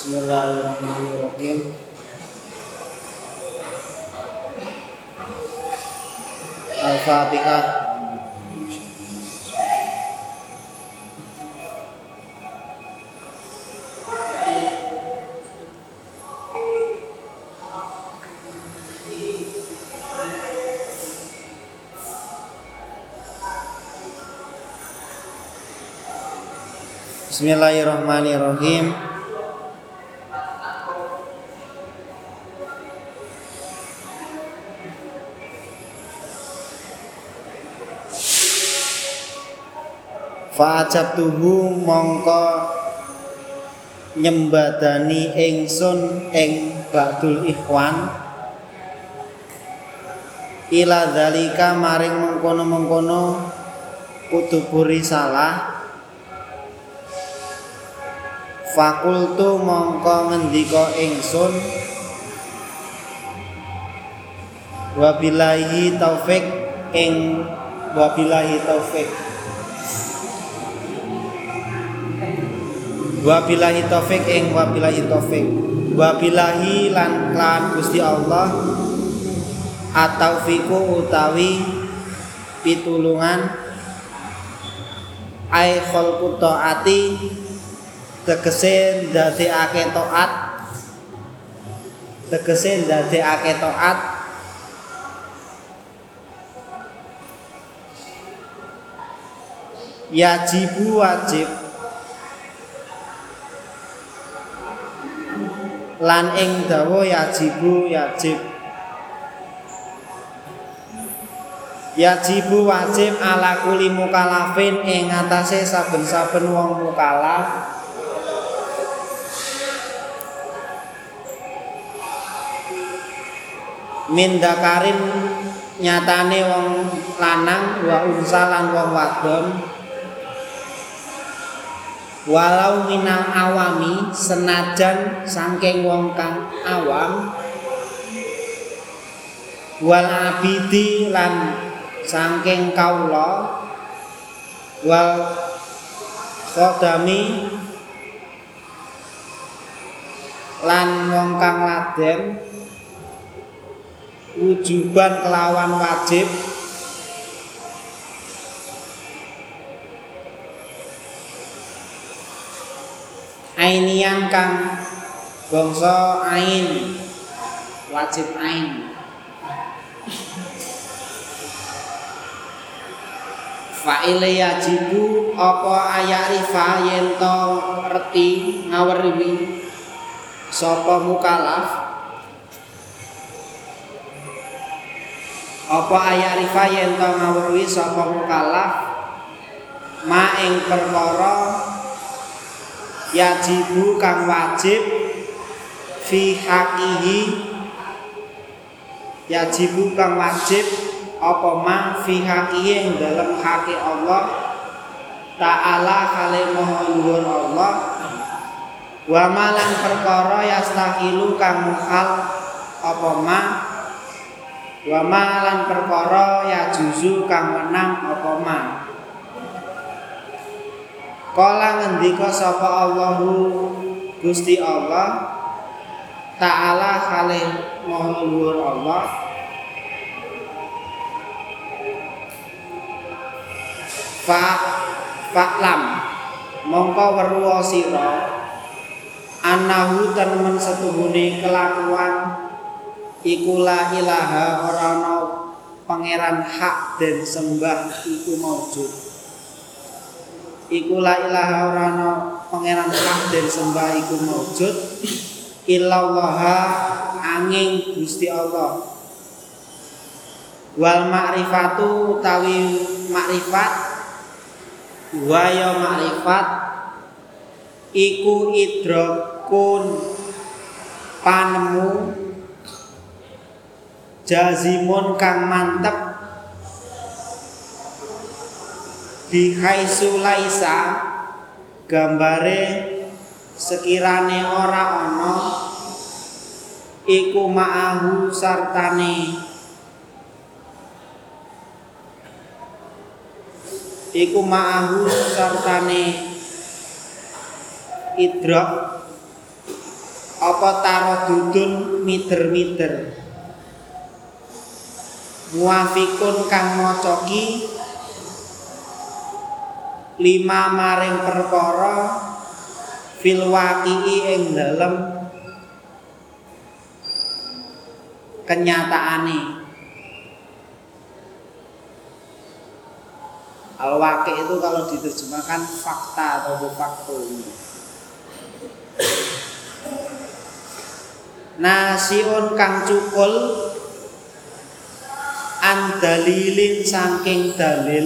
Bismillahirrahmanirrahim. Al-Fatihah. Bismillahirrahmanirrahim. Fa'ajabtuhu mongko nyembadani ingsun ing ba'dul ikhwan ila dzalika maring mengkono-mengkono kutubu risalah. Fakultu mongko ngendika ingsun wabillahi taufik ing wabillahi taufik wabillahi taufik ing wabillahi taufik wabillahi lan Gusti Allah ataufiku utawi pitulungan ai khalqu taati tegese ndadekake taat yajibu wajib lan ing dawa yajibu wajib ala kuli mukalafin ing atase saben-saben wong mukalaf min dakarin nyatane wong lanang wa unsa lan wong wadon walau minal awami senajan saking wong kang awam wal abidi lan saking kaula wal khodami lan wong kang laden wujuban kelawan wajib ainian kang bangsa ain wajib ain fa'ile yajibu apa ayarifa yen to reti ngawerwi sapa mukalaf apa ayarifa yen to ngawerwi sapa mukalaf ma ing perkara yajibu kang wajib fi haqihi yajibu kang wajib apa ma fi haqihi ing dalem haqi Allah ta'ala kale maha luhur Allah wa malan perkara yastaqilu kang mukhal apa ma wa malan perkara yajuzu kang menang apa ma. Kala ngendika sapa Allahu Gusti Allah Ta'ala kale maha luhur Allah fa'lam mongko weruh sira annahu temen setuhune kelakuan iku la ilaha ora ana pangeran hak den sembah iku maujud iku la ilaha ora ana pangeran hak den sembah iku maujud illallaha angin Gusti Allah wal ma'rifatu utawi makrifat wa ya makrifat iku idrakun panemu jazimun kang mantep bihaisu laisa gambare sekirane ora ana iku ma'ahu sartane idrak apa tarodudun mider-mider muafikun kang mocoki lima maring perkara fil waqi'i ing dalem kenyataane. Al-waqi' itu kalau diterjemahkan fakta atau faktum. Nasiun kang cukul an dalilin saking dalil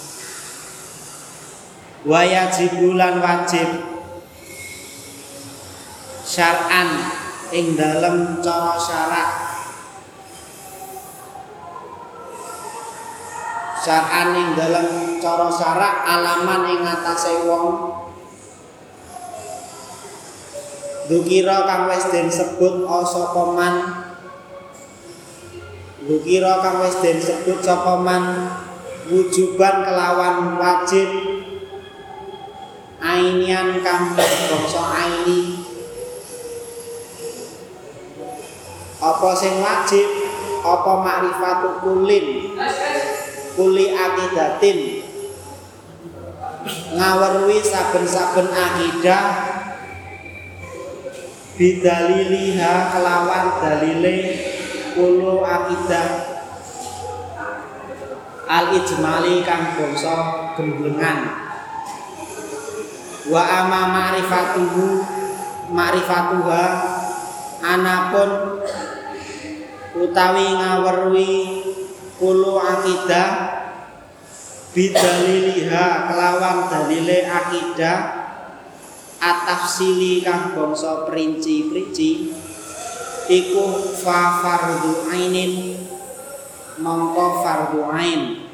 wayajibulan wajib syar'an ing dalem cara syarak syar'an ing dalem cara syarak alaman ing atase wong Dukira kang wis den sebut sapa man Dukira kang wis den sebut sapa man wujuban kelawan wajib ainian kang bangsa aini apa sing wajib apa makrifatu kuli akidatin ngawerwi saben-saben akidah bidaliliha kelawan dalile kulo akidah al ijmali kang bangsa gemblengan wa ama ma'rifatuha anapun utawi ngawerwi kulo akidah bidaliliha kelawan dalile akidah atafsili kang bangsa perinci-perinci iku fa fardhu ainin mongko fardhu ain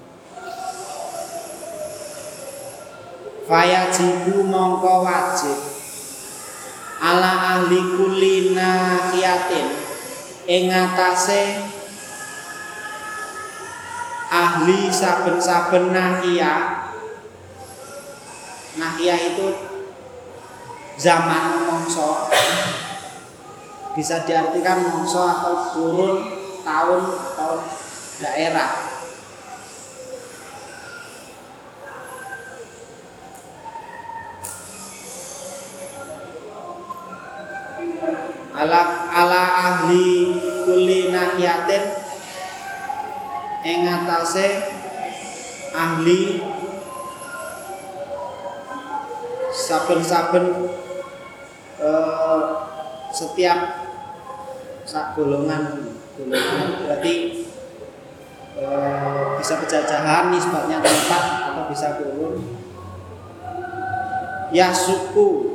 fayajibu mongko wajib ala ahli kulli nahiyatin ing atase ahli saben-saben nahiyah itu zaman mongso bisa diartikan mongso atau kurun tahun atau daerah. Ala ahli kulli nahiyatin ing atase ahli saben-saben setiap golongan berarti bisa penjajahan nisbatnya tempat atau bisa kurun ya suku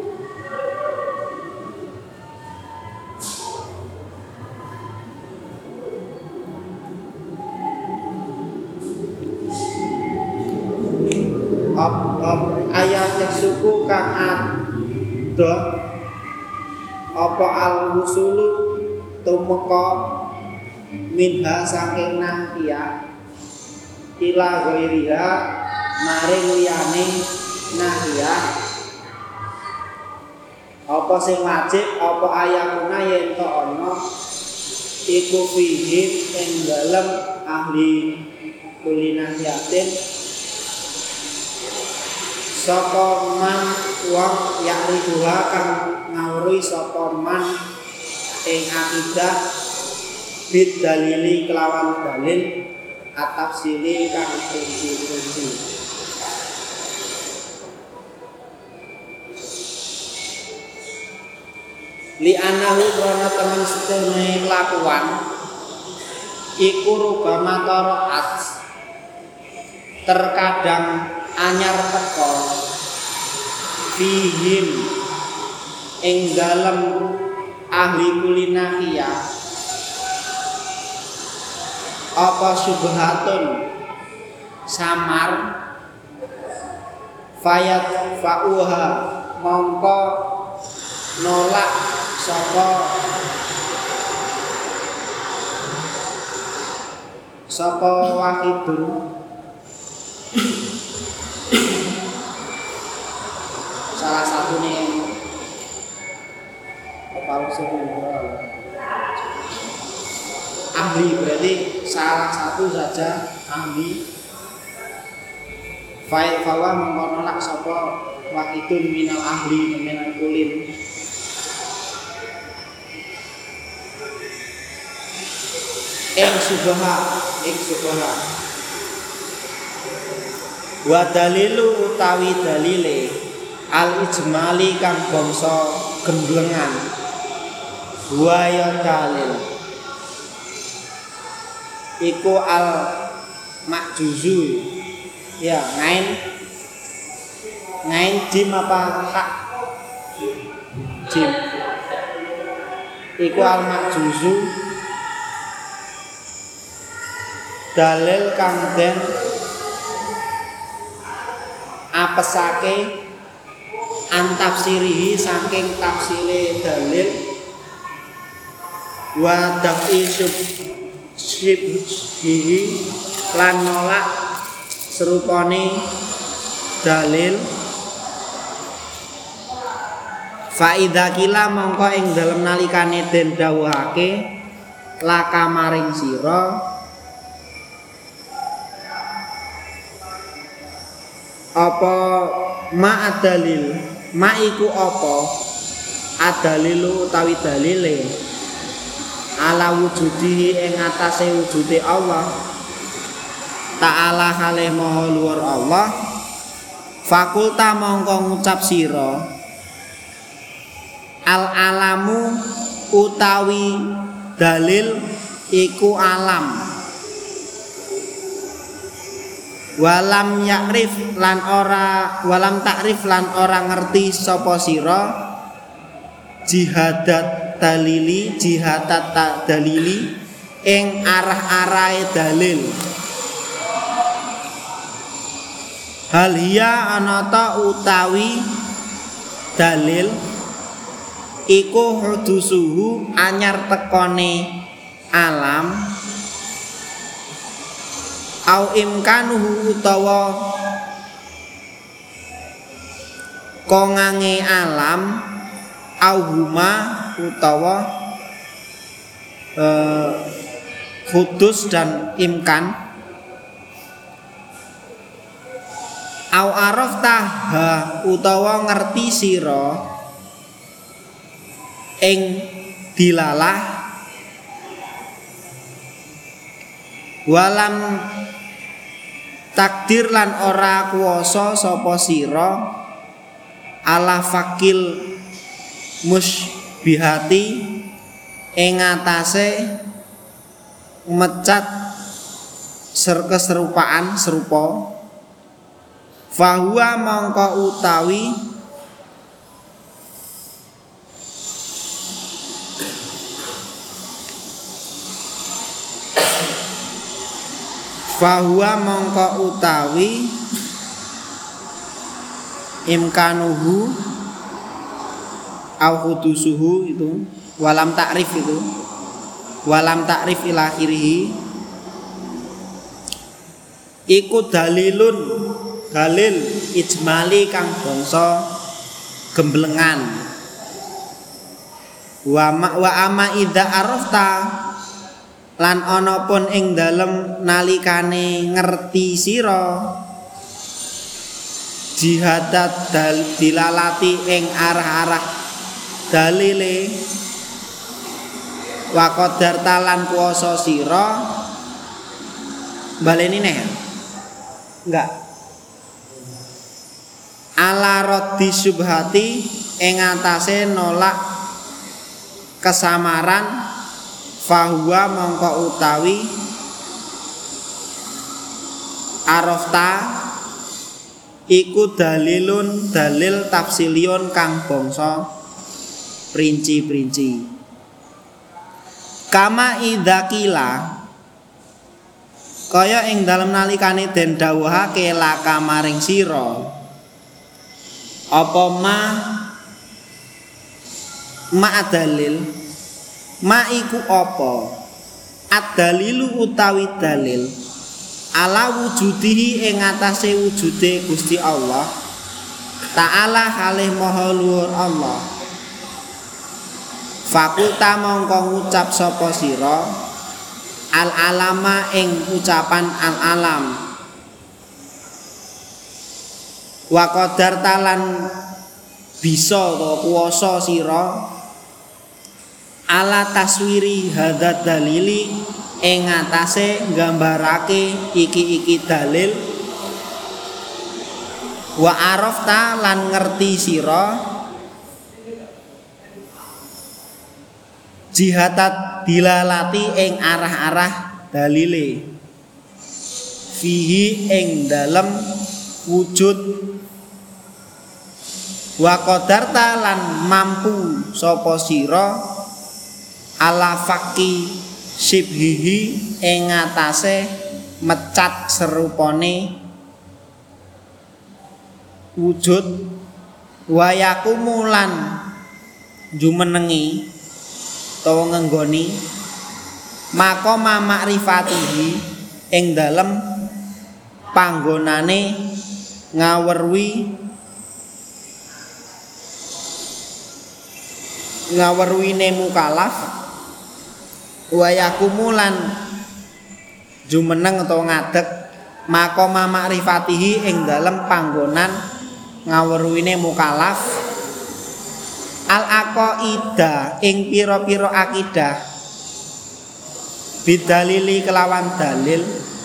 ayat suku kang ada apa al-wusulu tumeka minha saking nahiyah ila ghairiha maring liyane nahiyah apa sing wajib apa ayatuna yen to ana iku fihi ing dalem ahli kulinahiyatin sapa man wong yakribuha kang ngawruhi sapa man ing akidah bid dalili kelawan dalil atafsili kang rinci-rinci li anahu krana temen sedene kelakuan iku rubama taraat terkadang anyar teko fihim ing dalem ahli kulinahiyah apa subhatun samar fayat fa'uha mongko nolak sapa wahidun salah satu nih ahli berarti salah satu saja ahli. Fa'il fawa mengkono lak sapa wahidun minal ahli minal kulin. Ing subha wa dalilu utawi dalile al ijmali kang bangsa gemblengan wa ya dalil iku al makjuzu ya ngain jim apa hak jim iku al makjuzu dalil kang den apesake antafsirihi saking tafsire dalil wa dafi syibhihi lan nolak serupane dalil fa idza kila mongko ing dalem nalikane den dawuhake laka maring sira apa ma adalil ma iku apa adalilu utawi dalile ala wujudi ing atase wujude Allah ta'ala kalih maha luhur Allah fakulta mongko ngucap sira al alamu utawi dalil iku alam walam yakrif lan ora walam takrif lan ora ngerti sapa sira jihadat dalili ing arah-arahe dalil hal hiya anata utawi dalil iku hudusuhu anyar tekone alam au imkanuhu utawa kongange alam au huma utawa hudus dan imkan au araftah utawa ngerti sira ing dilalah walam takdir lan ora kuwasa sapa sira ala fakil musbihati ing atase mecat keserupaan serupa fahuwa mongko utawi fahuwa mongko utawi imkanuhu au hudusuhu itu walam takrif itu walam takrif ila akhirih iku dalilun dalil ijmali kang bangsa gemblengan wa ama idza arafta lan ana pun ing dalem nalikane ngerti sira jihadat dilalati ing arah-arah dalile wa qadar talan kuwasa sira baleni neh enggak ala raddi syubhati ing atase nolak kesamaran fahuwa mongko utawi arafta iku dalilun dalil tafsilion kang bangsa perinci-perinci kama idzakila kaya ing dalem nalikane den dawuhake laka maring sira apa ma dalil ma iku apa ad-dalilu utawi dalil ala wujudihi ing atase wujude Gusti Allah ta'ala kalih maha luhur Allah Fakulta mongko ngucap sapa sira al alama ing ucapan al alam wa qadar talan bisa to kuwasa sira ala taswiri hadat dalili ing ngatasé nggambarake iki dalil wa arafta lan ngerti sira jihatat dilalati ing arah-arah dalile fihi ing dalem wujud wa qadarta lan mampu sapa sira ala faqi sibhihi ing ngatasé mecat serupane wujud wa yakumulan jumenengi utawa ngenggoni maqama ma'rifatihi ing dalem panggonane ngawerwine mukallaf wa yakumulan jumeneng utawa ngadeg maqama ma'rifatihi ing dalem panggonan ngawerwine mukallaf al aqaida ing pira-pira akidah bidalili kelawan dalil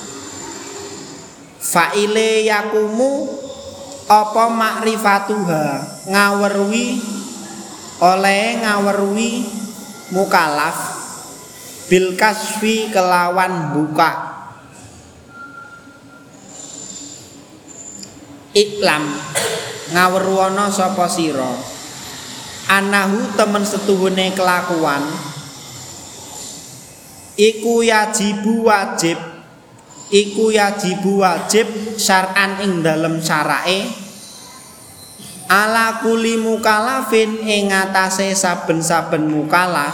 fa'ile yakumu apa makrifatuha ngawerwi oleh ngawerwi mukallaf bil kasfi kelawan buka iklam ngaweruana sapa sira anahu temen setuhune kelakuan iku yajibu wajib syar'an ing dalem syara'e ala kuli mukallafin ing ngatasé saben-saben mukallaf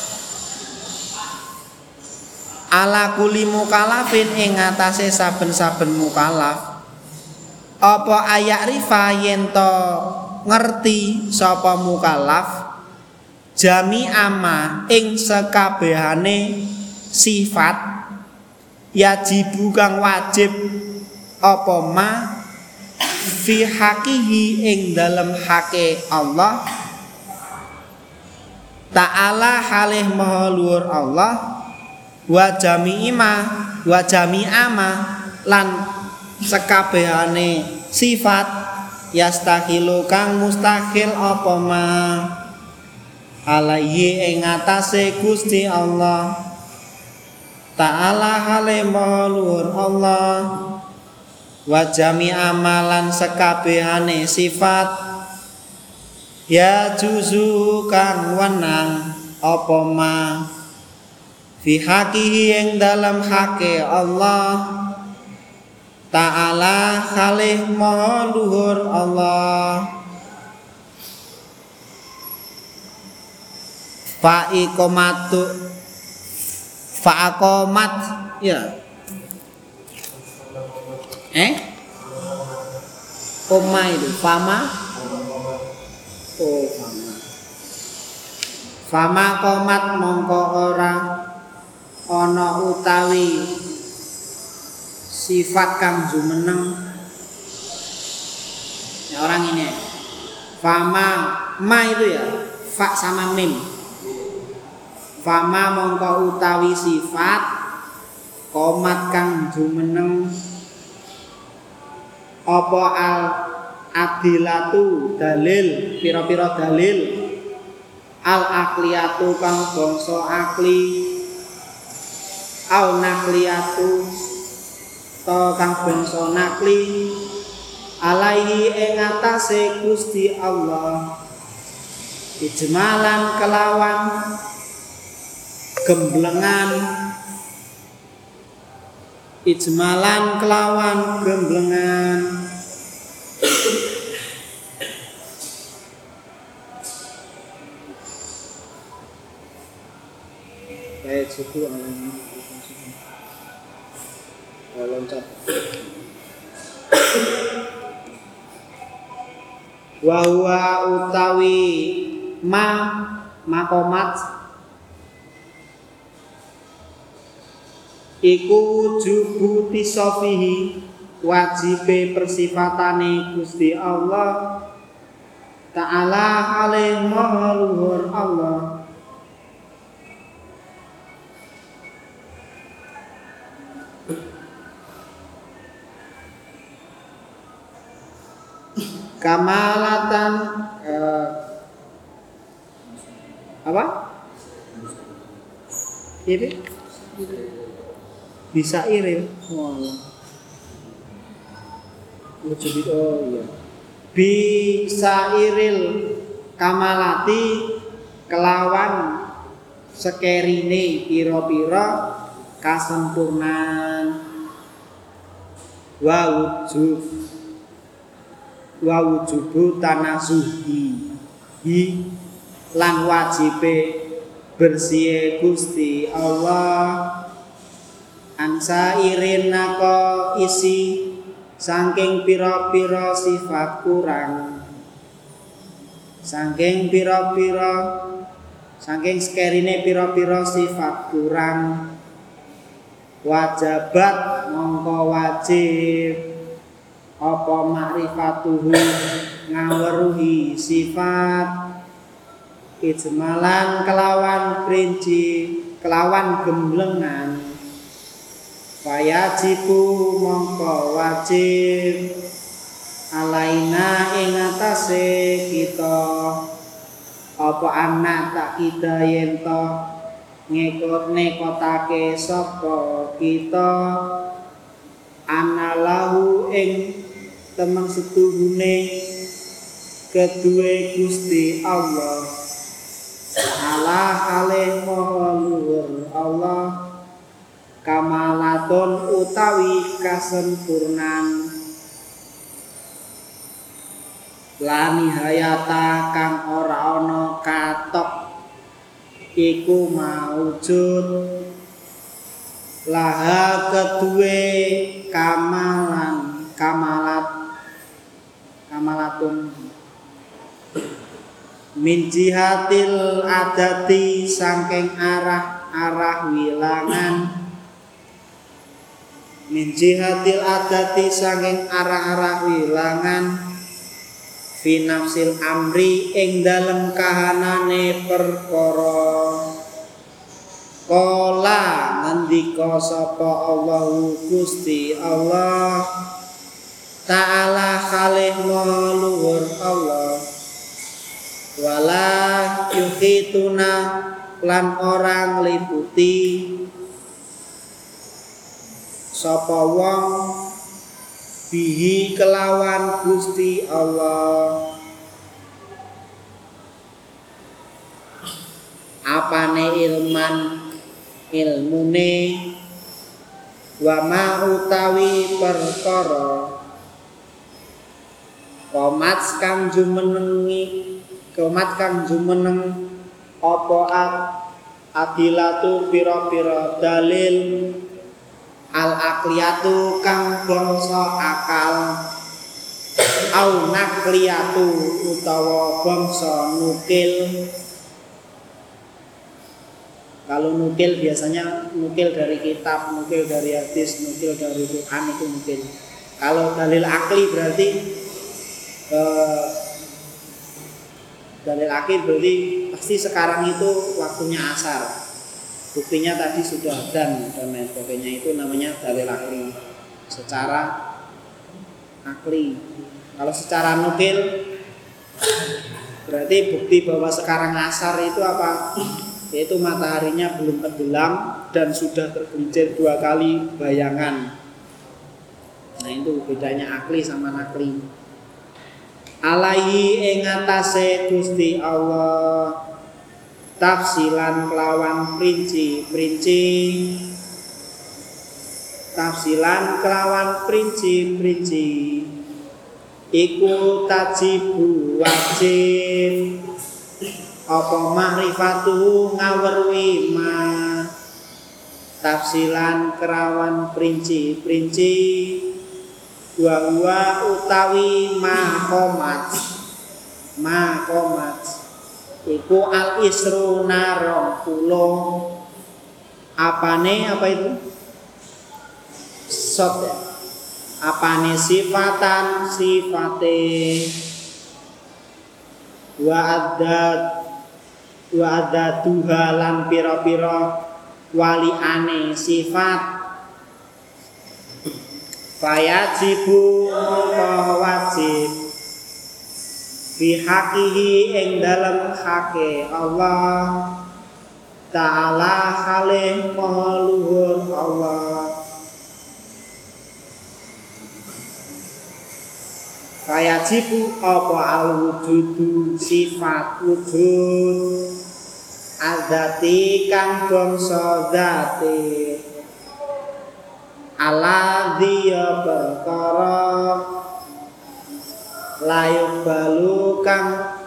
ala kuli mukallafin ing ngatasé saben-saben mukallaf apa ayak rifa yen to ngerti sapa mukallaf jami ama ing sekabehane sifat yajibu kang wajib apa ma fi haqihi ing dalem hake Allah ta'ala halih maha luhur Allah wa jami'ama lan sekabehane sifat yastahilu kang mustahil apa ma alaihi ing atase Gusti Allah ta'ala hale maha luhur Allah wa jami amalan sekabehane sifat ya juzu kang wenang apa ma fi haqihi ing dalam hake Allah ta'ala khalih maha luhur Allah fa'aqomat ya koma itu fama komat mongko ora ana utawi sifat kang jumeneng ya orang ini fama ma itu ya fa sama mim fama mongko utawi sifat komat kang jumeneng apa al adilatu dalil pira-pira dalil al akliyatu kang bangsa akli au nakliyatu to kang bangsa nakli alaihi ing atase Gusti Allah ijmalan kelawan gemblengan ijmalan kelawan gemblengan baik suku alami loncat wa huwa utawi ma makomat iku wujubu tisofihi wajibe persifatane Gusti Allah Ta'ala alaih maha luhur Allah kamalatan apa? Ini bisa irim. Oh iya. Bisa iril kamalati kelawan sekerine pira-pira kasempurnaan wa wujubu tanasuhi lan wajibe bersih Gusti Allah ansa irinako isi saking pira-pira sifat kurang saking sekerine pira-pira sifat kurang wajabat mongko wajib apa makrifatuhu ngaweruhi sifat ijmalan kelawan perinci kelawan gemblengan wajibu mongko wajib alaina ing atase kita apa anak tak kita yen to nekotake sapa kita analau ing temen setuhune kedue Gusti Allah Allah kalih maha luhur Allah kamalatun utawi kasempurnan lani hayata kang ora ana katok iku maujud laha kedue kamalatun min jihatil adati saking arah wilangan min jihatil adati saking arah wilangan fi nafsil amri ing dalem kahanane perkara kala ngendika sapa Allahu Gusti Allah Ta'ala khalih maha luhur Allah wala yuhituna lan orang liputi sapa wong bihi kelawan Gusti Allah apane ilmune wa ma utawi perkara komat kang jumeneng apa adilatu pira-pira dalil al aqliyatu kang bangsa akal au naqliyatu utawa bangsa nukil. Kalau nukil biasanya nukil dari kitab, nukil dari hadis, nukil dari Quran itu nukil. Kalau dalil akli berarti pasti sekarang itu waktunya asar. Buktinya tadi sudah dan lain sebagainya, itu namanya dalil akli. Secara akli. Kalau secara nukil berarti bukti bahwa sekarang asar itu apa? Yaitu mataharinya belum tenggelam dan sudah tergelincir 2 kali bayangan. Nah itu bedanya akli sama nakli. Alaihi ing atase Gusti Allah tafsilan kelawan perinci tafsilan kelawan perinci iku tajibu wajib apa makrifatuhu ngawerwi ma tafsilan kelawan perinci wa utawi makomat iku al isruna 20. Apane apa itu? Sot ya. Apane sifatan sifate wa adat tuhalan pira-pira waliane sifat fayajibu wajib bihaqihi ing dalem hake Allah Ta'ala halih maha luhur Allah. Fayajibu apa al-wujudu sifat wujud adzati kang bangsa dzati ala dia perkara layuk balu kang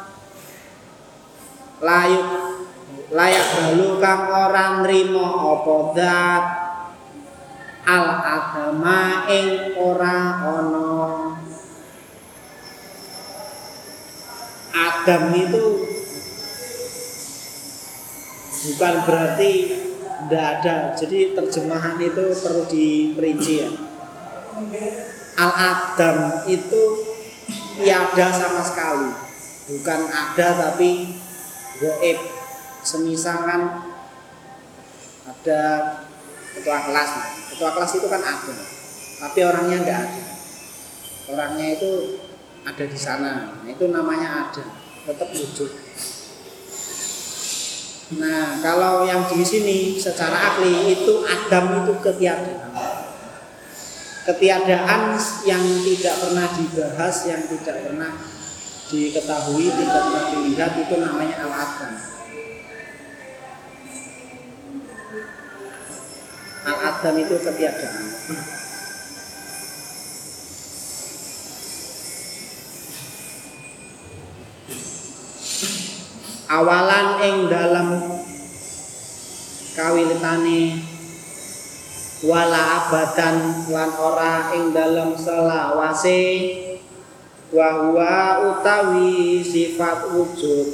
layak balu kang ora nrimo apa zat al agama ing ora ana. Adam itu bukan berarti tidak ada, jadi terjemahan itu perlu diperinci ya. Al-Adam itu tiada sama sekali, bukan ada tapi gaib. Semisal kan ada ketua kelas itu kan ada, tapi orangnya tidak ada. Orangnya itu ada di sana, nah, itu namanya ada, tetap wujud. Nah, kalau yang di sini secara akli itu Adam itu ketiadaan. Ketiadaan yang tidak pernah dibahas, yang tidak pernah diketahui, tidak pernah dilihat, itu namanya Al-Adam. Al-Adam itu ketiadaan. Awalan ing dalam kawilitane wala abadan lan ora ing dalam selawase wa huwa utawi sifat wujud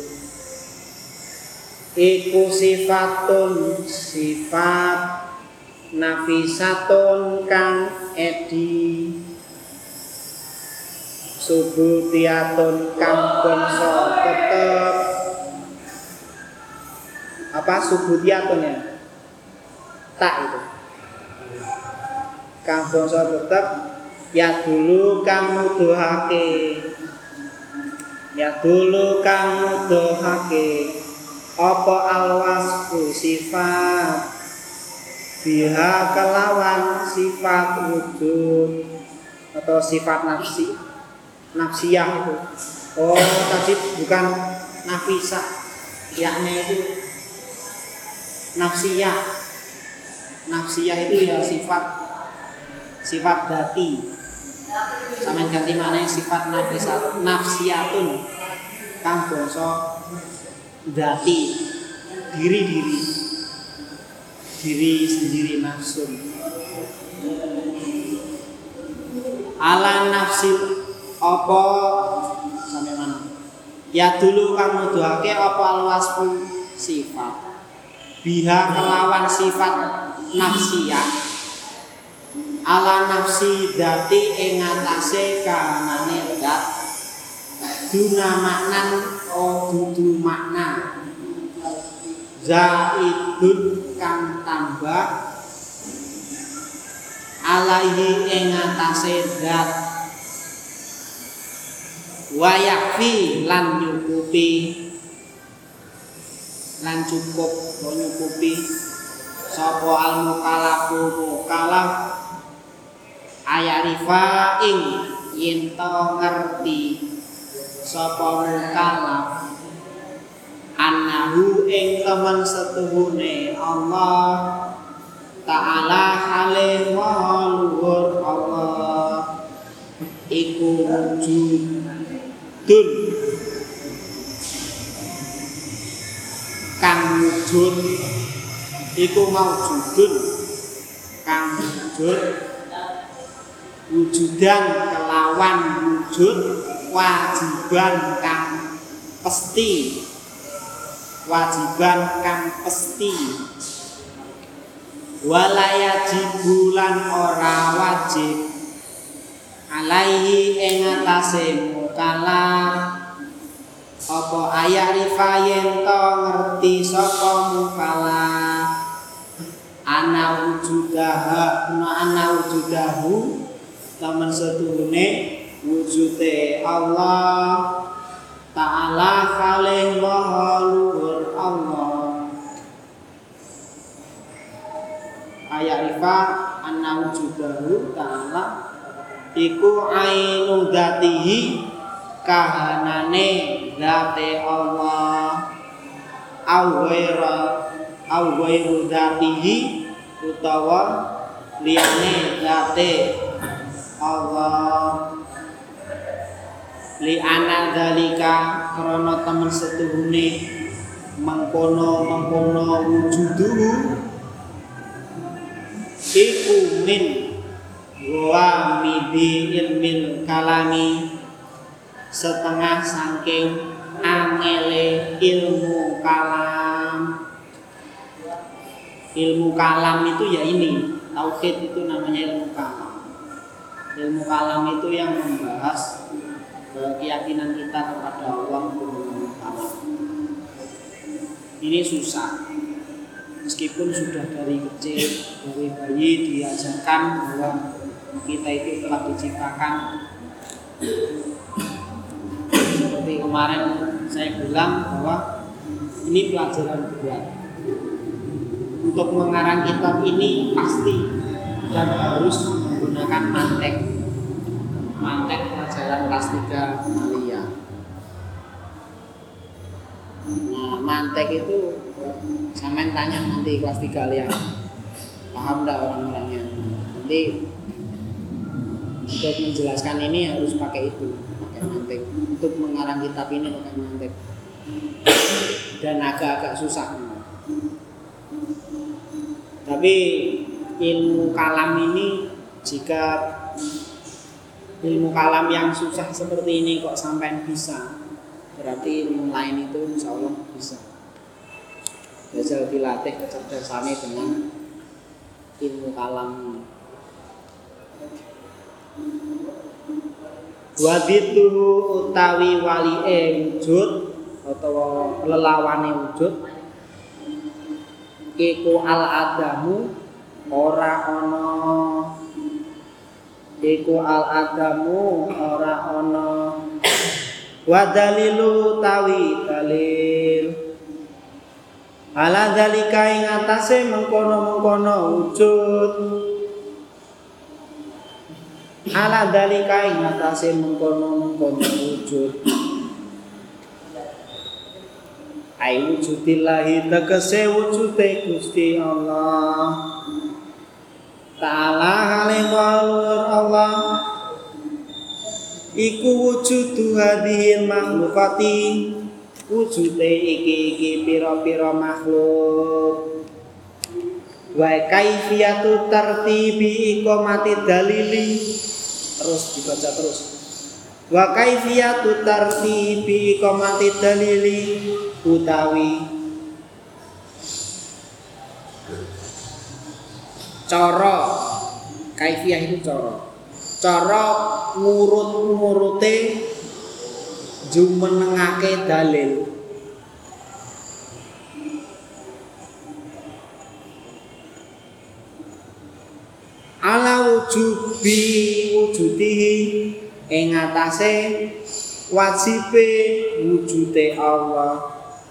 iku sifatun sifat nafisatun kang edi subutiyatun kang bangsa tetep apa subutiyatun ya tak itu kang bangsa tetep ya dulu kang nuduhake apa alwasfu sifat biha kelawan sifat wujud atau sifat nafsiyah itu. Oh tadi bukan nafisah, yakni itu nafsiyah. Nafsiyah itu ya sifat dati. Sampeyan ganti maneh sifat nafsiyatun kang basa dati, diri sendiri nafsu. Ala nafsi apa sampe mana? Ya dulu kang nuduhake apa alwasfu sifat. Biha kelawan sifat nafsiyah. Ala nafsi dati ing atase kanane dat. Duna maknan dudu makna. Zaidun kang tambah alaihi ing atase dat wa yakfi lan nyukupi lan cukup nyukupi sapa al mukallaf ayarifa ing yen to ngerti sapa mukallaf annahu ing temen setuhune Allah Ta'ala halih maha luhur Allah iku wujudun kang wujud iku maujudun kang wujud wujudan kelawan wujud wajiban kang pasti wajiban kang pesti walayajibulan ora wajib alaihi ing atase mukallaf apa ayarifa yen to ngerti sapa mukallaf ana wujudahu taman setuhune wujude Allah Ta'ala kalih maha luhur Allah ayarifa ana wujudahu ta'ala iku ainu dzatihi kahanane zate Allah au ghairu dzatihi utawa liyane zate Allah li ana dzalika krana temen setuhune mengkono wujuduhu iku min wa midi ilmil kalami setengah saking angele ilmu kalam itu ya ini tauhid itu namanya ilmu kalam itu yang membahas keyakinan kita kepada Allah ini susah meskipun sudah dari kecil dari bayi diajarkan bahwa kita itu telah diciptakan seperti kemarin saya bilang bahwa ini pelajaran berat untuk mengarang kitab ini pasti dan harus menggunakan mantek pelajaran kelas 3 Malia. Nah, mantek itu sampean tanya nanti kelas 3 Malia paham enggak orang-orangnya nanti untuk menjelaskan ini harus pakai mantek untuk mengarang kitab ini pakai mantek dan agak-agak susah tapi ilmu kalam ini jika ilmu kalam yang susah seperti ini kok sampai bisa berarti ilmu lain itu insya Allah bisa belajar dilatih kecerdasannya dengan ilmu kalam wadituhu utawi wali'e wujud atau lelawane wujud iku al-adamu ora ana wa dalilu tawi dalil ala dalika ing atase mengkono-mengkono wujud ala dalika ing atase mengkono-mengkono wujud ai wujudillahi tegese wujude Gusti Allah Ta'ala halimulur Allah iku wujudu hadhil makhlukati wujude iki pira-pira makhluk wa kaifiyatu tartibi iqamati dalili terus dibaca terus wa kaifiyatu tartibi iqamati dalili utawi cara kaifiyah itu cara ngurut-ngurute jumenengake dalil ala wujudihi ing atase wajibe wujude Allah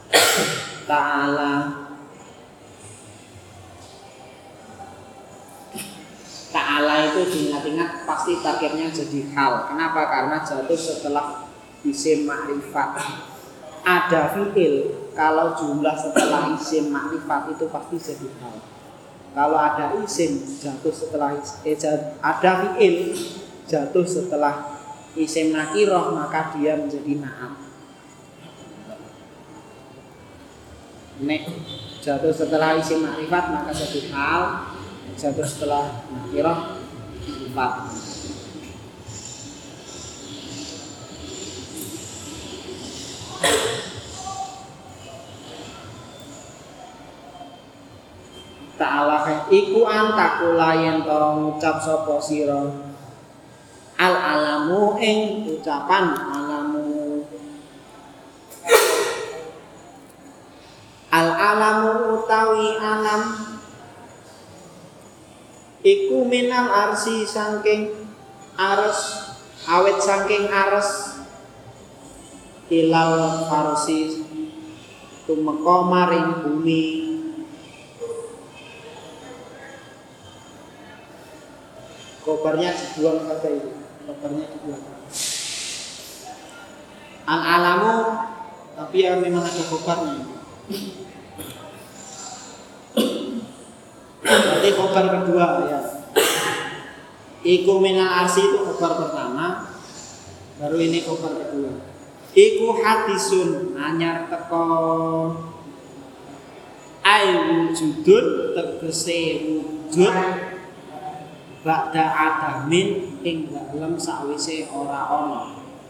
Ta'ala itu diingat-ingat pasti targetnya jadi hal. Kenapa? Karena jatuh setelah isim makrifat. Ada fi'il, kalau jumlah setelah isim makrifat itu pasti jadi hal. Kalau ada isim jatuh setelah ada fi'il jatuh setelah isim nakirah maka dia menjadi na'at. Nek jatuh setelah isim makrifat maka jadi hal, jatuh setelah nakirah sifat. ta'ala iku antakula yen to ngucap sapa sira al alamu ing ucapan alamu. Al alamu utawi alam iku minal arsi saking ares, awet saking ares ilal farsi tumeka maring bumi. Kobarnya dibuang kata itu, kobarnya dibuang. Al alamu tapi ya memang ada kobarnya. Berarti kobar kedua ya. Iku minal arsi itu kobar pertama, baru ini kobar kedua. Iku hadisun anyar teko ai wujudun tegese wujud ba'da adamin ing dalem sawise ora ana.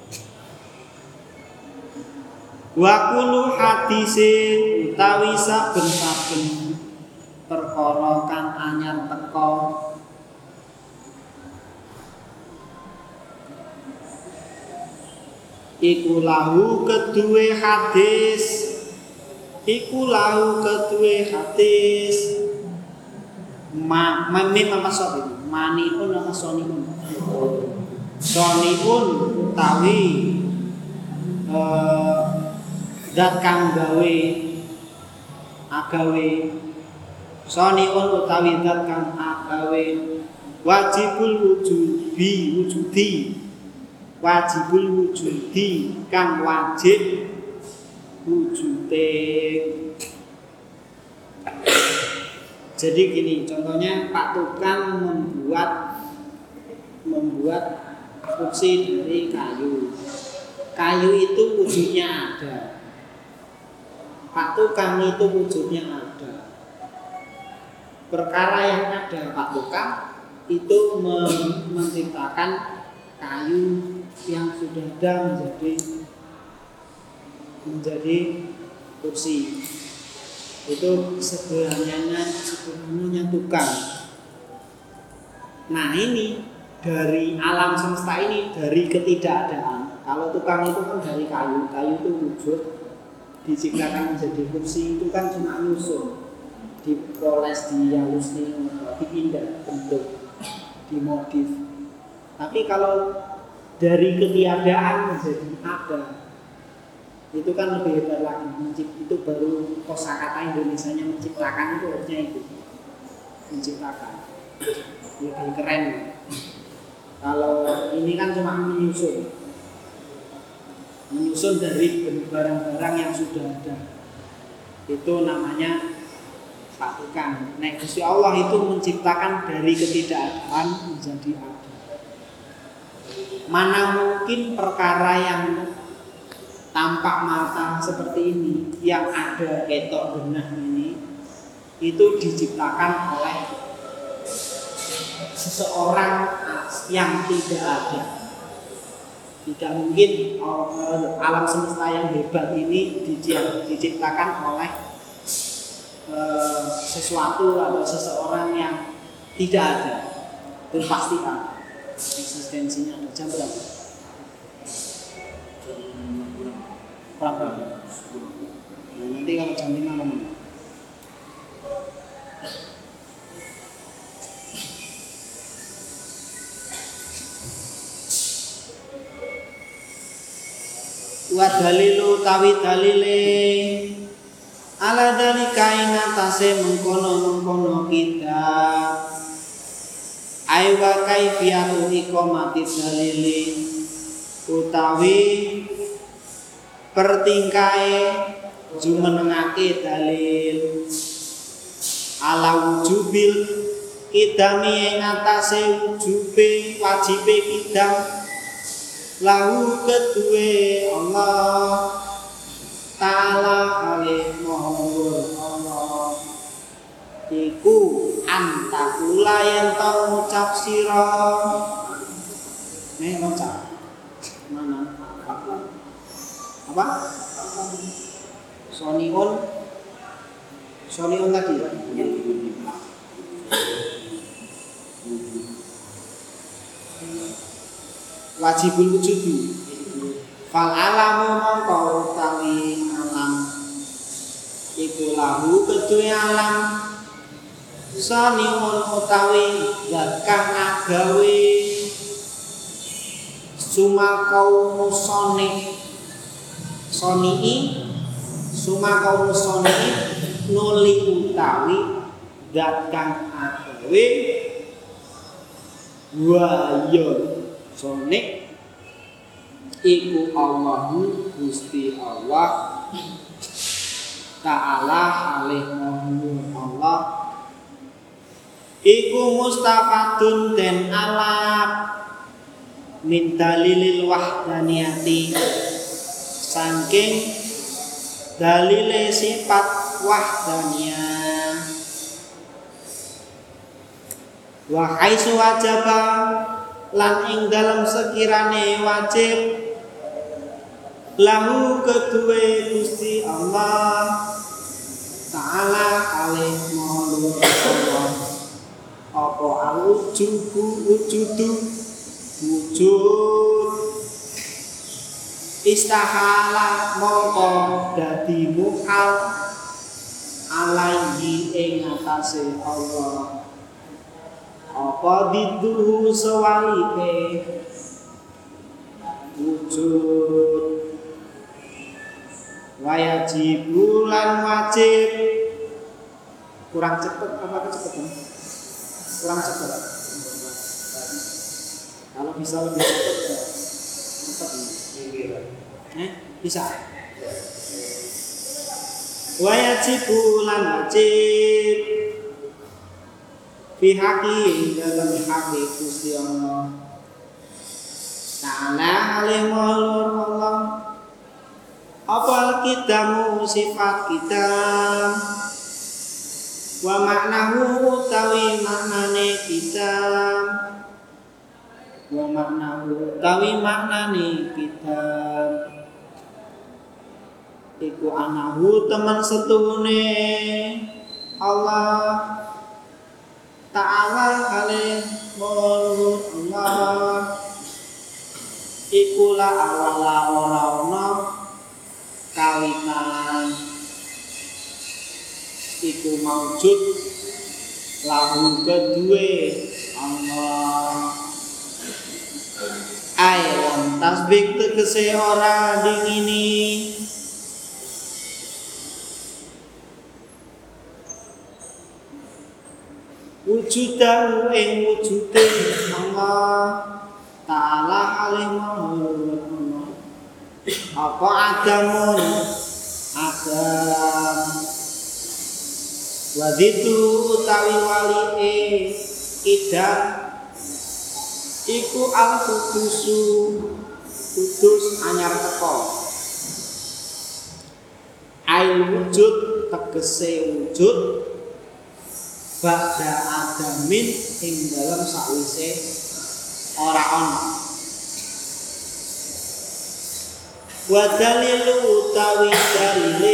Wa kullu hadise utawi saben-saben perkara kang anyar teko iku lahu kedue hadis, iku lahu kedue hadis. Mami mama sobi, mani pun nama soni pun, soni pun utawi dat kang gawe agawe, soni pun utawi dat kang agawe, wajibul wujudi, wajibul wujudi kang wajib wujude. Jadi gini, contohnya Pak Tukang membuat kursi dari kayu. Kayu itu wujudnya ada. Pak Tukang itu wujudnya ada. Perkara yang ada Pak Tukang itu menciptakan kayu yang sudah ada menjadi kursi. Itu sederhananya tukang. Nah ini dari alam semesta ini, dari ketidakadaan. Kalau tukang itu kan dari kayu, kayu itu wujud diciptakan menjadi kursi, itu kan cuma nyusun, dipoles, dihalus, dipindah bentuk, dimodif. Tapi kalau dari ketiadaan menjadi ada, itu kan lebih hebat lagi. Itu baru kosakata Indonesianya menciptakan, itu harusnya itu menciptakan, lebih keren. Kalau ini kan cuma menyusun dari barang-barang yang sudah ada, itu namanya Pak Tukang. Nah, Gusti Allah itu menciptakan dari ketidakadaan menjadi ada. Mana mungkin perkara yang tampak mata seperti ini, yang ada ketok benah ini, itu diciptakan oleh seseorang yang tidak ada. Tidak mungkin alam semesta yang hebat ini diciptakan oleh sesuatu atau seseorang yang tidak ada. Itu pasti ada eksistensinya. Jam berapa? Kurang. Nah, nanti kalau jam 5 ngomong. Wa dalilu tawi dalile ala dalika ing atase mengkono kita aiwa kaifiyatu iqamati dalili utawi pertingkae jumenengake dalil ala wujubil idami ing atase wujube wajibe kidam lahu kedue Allah Ta'ala alih Muhammad Allah iku antakula yang tau ngucap sira ngucap mana apa Sonion tadi wajibul wujudu fal alamu mongko utawi alam iku lahu kedue alam saniun utawi zat kang agawe sumakau soni sumakau soni nuli utawi zat kang agawe wa ya sonik iku Allahu Gusti Allah Ta'ala alih Allah iku mustafadun den alap min dalilil wahdaniyati saking dalile sifat wahdaniyah wa haitsu wajaba lan ing dalam sekirane wajib lahu kedue Gusti Allah Ta'ala alih maha Allah apa wujudu wujud istahala mongko dadi muhal alaihi ing atase Allah apa diduhu sewalike wujud wajibu lan wajib kurang cepet apa kecepatan kurang cepet kalau bisa lebih cepet bisa wajibu lan wajib pihaki dalam haki Gusti Allah Ta'ala alih maha Allah apa kitamu sifat kita wa maknahu utawi maknane kita wa maknahu utawi maknane kita iku anahu teman setuhune Allah Ta'ala alih Allah ikulah awala ora-ona kawitan iku maujud lahu kedue Allah ayam tasbih tegese ora dingini wujudahu ing wujude Allah Ta'ala alih Allah apa adamun adam waditu utawi wali idam iku al-qudusu kudus anyar teko ail wujud tegese wujud ba'da adamin ing dalam sakwise ora ana wa dalilu utawi dalile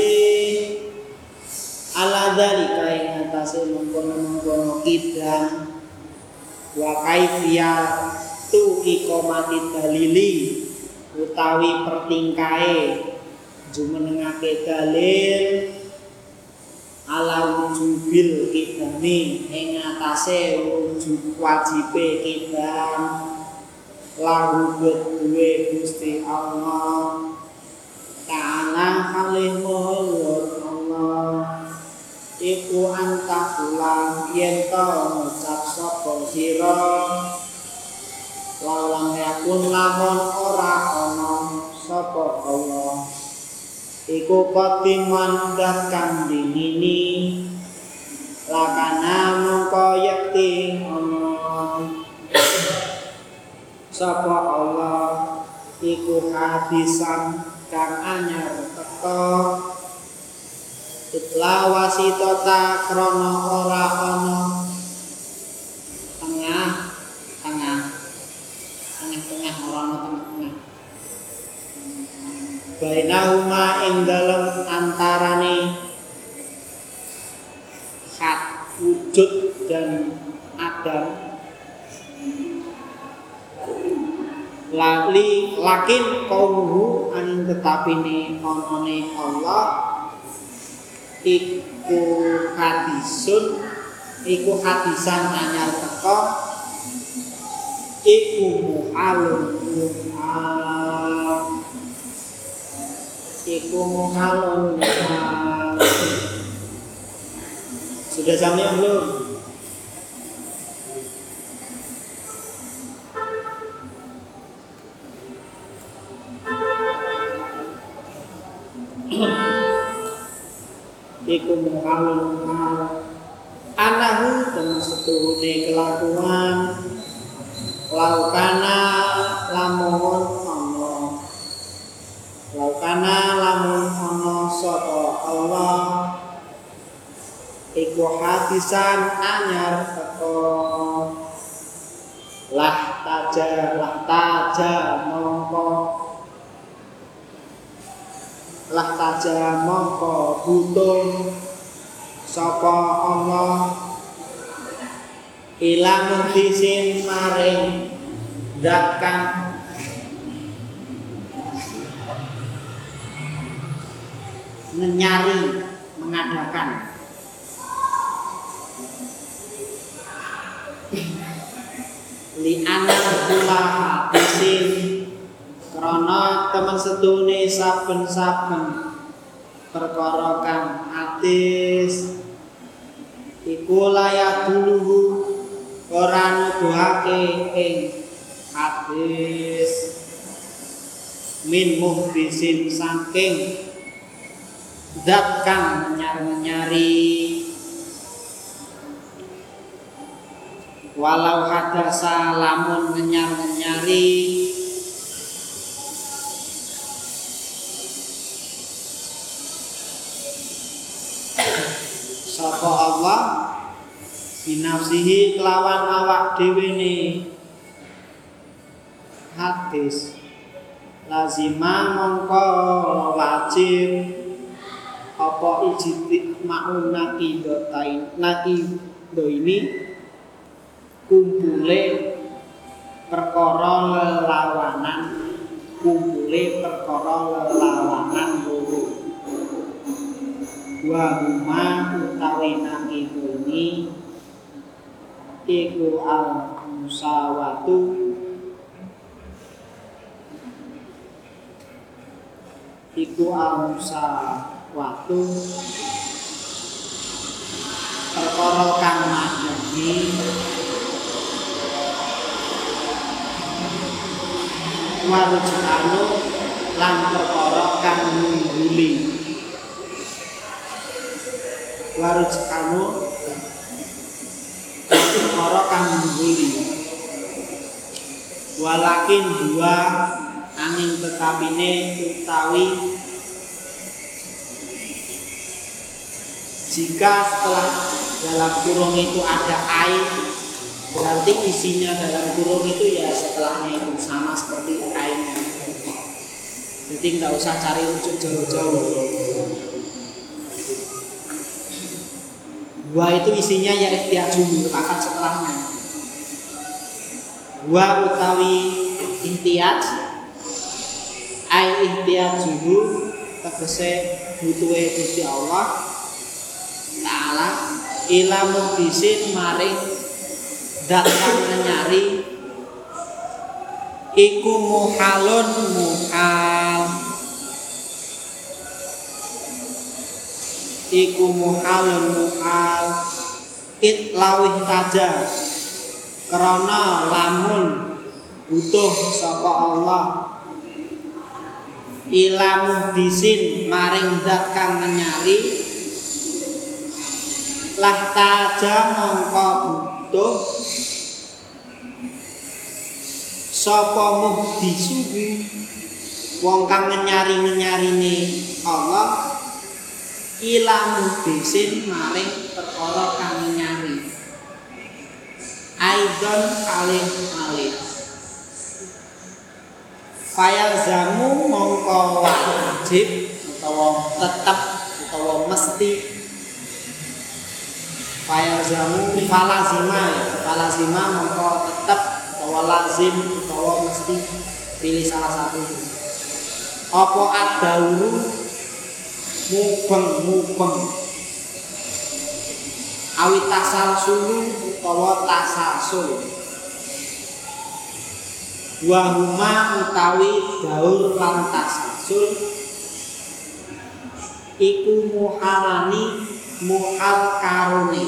ala dalika ing atase mengkono-mengkono kidang wa kaifiyatu iqamati dalili utawi pertingkae jumenengake dalil ala wujubil kidami ing atase wujud wajibe kidam lahu kedue Gusti Allah Ta'ala alih Allah iku antakulang yen to ngucap sapa sira lalang yakun lamun ora ana sapa Allah iku kotiman dan kang dinini lakana mongko yakti ana sapa Allah iku hadisan kang anyar teka itla wasitota krana ora ana tengah ora ana tengah bainahuma ing dalem antarane hak wujud dan Adam lakin kaumuhu angin tetapine onone Allah iku hadisan anyar teko iku muhalun sudah jamnya belum? Iku muhalun anahu temen setuhune kelakuan laukana lamun ono sapa Allah iku hadisan anyar teko lah taja mongko butuh sapa Allah ilang muhdisin maring zat kang menyari mengadakan li anak kula hadisin krana temen sedune saben-saben perkara kang hadis iku layak dulu ora nuduhake ing hadis min muhdisin saking zat kang nyari walau hadasa lamun nyari sapa Allah binafsihi kelawan awak dhewe ne hadis lazima mongko wajib apa ijti ma'un nakido ini kumpule perkara lelawanan loro wa huma utawi nakido ini iku al-musawatu perkara kang madheni warujanu lan perkara kang ngungguli walakin dua angin tetapine utawi jika setelah dalam kurung itu ada air berarti isinya dalam kurung itu ya setelahnya itu sama seperti airnya, jadi nggak usah cari rujuk jauh-jauh. Dua itu isinya ya ihtiyaju akan setelahnya. Dua utawi ihtiyaj ai ihtiyajuhu tegese butuhe Gusti Allah Ta'ala ila muhdisin maring zat kang nyari iku muhalun muhal it lawih taja karena lamun butuh sapa Allah ila muhdisin maring zat kang nyari lah taja mongko butuh sapa muhdisuhu wong kang nyari-nyarine Allah ila muhdisin maring perkara kang nyari aidon alih fayalzamu mongko wajib utawa tetep utawa mesti falazima mongko tetep utawa lazim utawa mesti pilih salah satu. Apa ad-dauru mubeng awit tasalsul utawa tasalsul. Wa huma utawi daur lan tasalsul iku muhalani muhal karone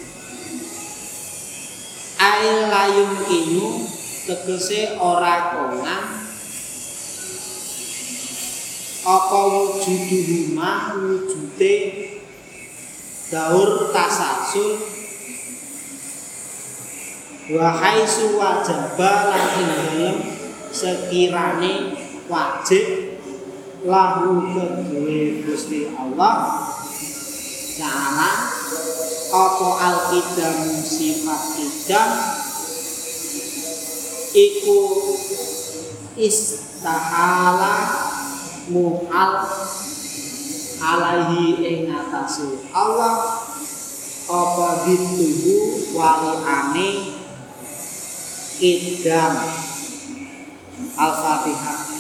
ail layung kinu tegese ora konang apa wujuduhuma wujude daur tasalsul wa haitsu wajaba lan ing dalem sekirane wajib lahu kedue Gusti Allah Ta'ala apa al-qidam sifat qidam iku istahala muhal alaihi ing atase Allah apa dituhu waliane qidam Al-Fatihah.